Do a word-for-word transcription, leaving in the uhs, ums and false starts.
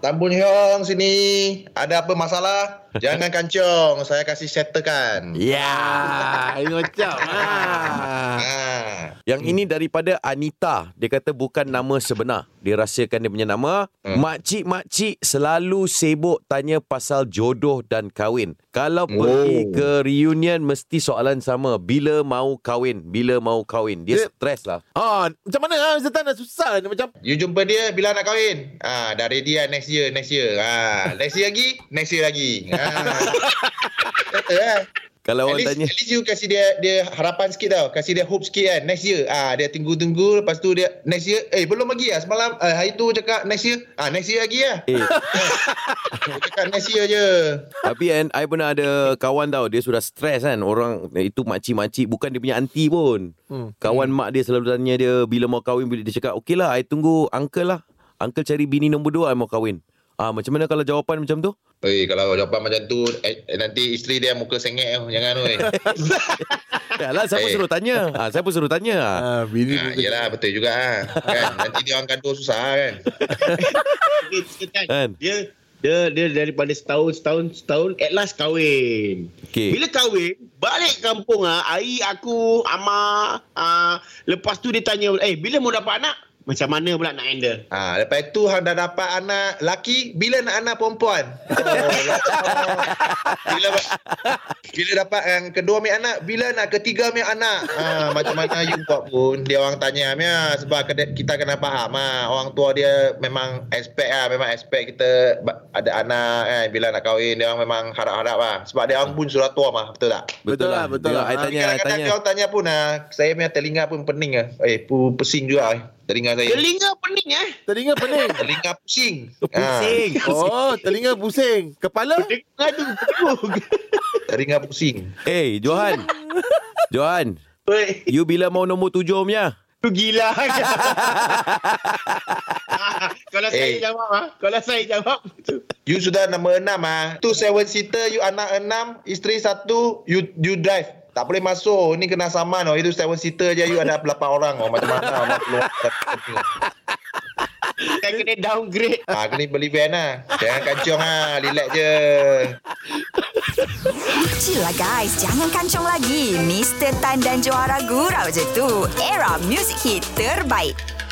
Tan Boon Hyung sini. Ada apa masalah? Jangan kancong, saya kasih settlekan. Ya, ini macam. Ah. Ah. Yang ini daripada Anita. Dia kata bukan nama sebenar. Dia rahsiakan dia punya nama. Hmm. Makcik-makcik selalu sibuk tanya pasal jodoh dan kahwin. Kalau oh. pergi ke reunion mesti soalan sama. Bila mau kahwin? Bila mau kahwin? Dia, dia stres lah. Ah, macam mana ah Mister Tan dah susah dia macam. You jumpa dia bila nak kahwin? Ah, dah ready lah next year, next year. Ah, next year lagi, next year lagi. Ah. Kata lah. Kalau at orang least, tanya, at least you kasih dia dia harapan sikit tau. Kasih dia hope sikit kan. Next year. Ah, dia tunggu-tunggu. Lepas tu dia next year. Eh, belum lagi lah. Semalam, uh, hari tu cakap next year. Ah, next year lagi lah. eh, Cakap next year je. tapi kan, I pernah ada kawan tau. Dia sudah stres kan. Orang itu makcik-makcik. Bukan dia punya aunty pun. Hmm. Kawan hmm. mak dia selalu tanya dia bila mau kahwin. Bila dia cakap, okey lah, I tunggu uncle lah. Uncle cari bini nombor dua, I mau kahwin. Ah, macam mana kalau jawapan macam tu? Oi, kalau jawapan macam tu, eh, nanti isteri dia muka sengit. Jangan oi. Yalah, siapa Eh. suruh tanya? Ah, siapa suruh tanya? Ah, bini Ah, yelah, betul juga ah. Kan? Nanti dia orang kandung susah kan. Kan? Dia dia dia daripada setahun setahun setahun at last kahwin. Okay. Bila kahwin, balik kampung ah, air aku, ama ah, lepas tu dia tanya, "Eh, bila mau dapat anak?" Macam mana pula nak handle? Ah, lepas tu hang dah dapat anak laki, bila nak anak perempuan? Oh, bila bila dapat yang kedua ambil anak, bila nak ketiga ambil anak? Ah, macam mana you buat pun dia orang tanya ya, sebab kita kena faham ah, orang tua dia memang expect ah, memang expect kita ada anak kan, bila nak kahwin dia orang memang harap-harap ah. Sebab dia orang pun sudah tua mah, betul tak? Betul lah, betul lah. I tanya, I Kadang-kadang tanya. dia orang tanya pun ah, saya punya telinga pun pening ah. Eh, pu- pusing juga eh. Telinga saya. Telinga pening eh? Telinga pening. Telinga pusing. Pusing. Oh, telinga pusing. Kepala? Telinga tu pening. Telinga pusing. Eh, Johan. Johan. Oi, You bila mau nombor tujuh punya? tu gila. Kalau saya Eh. jawab ah, kalau saya jawab tu. You sudah nombor enam ah. Tu seven seater, you anak enam, isteri satu, you you drive. Tak boleh masuk. Ni kena saman oh. Itu seven seater je, you ada lapan orang oh. Macam mana nak keluar. Saya kena downgrade. Ah, kena beli van lah. Jangan kancong lah. Relax je. Chill lah guys, jangan kancong lagi. Mister Tan dan Johara gurau je tu. Era music hit terbaik.